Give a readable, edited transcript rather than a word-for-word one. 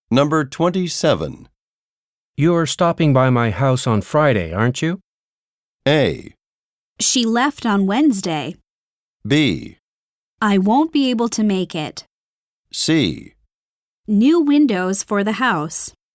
Number 27. You're stopping by my house on Friday, aren't you? A. She left on Wednesday. B. I won't be able to make it. C. New windows for the house.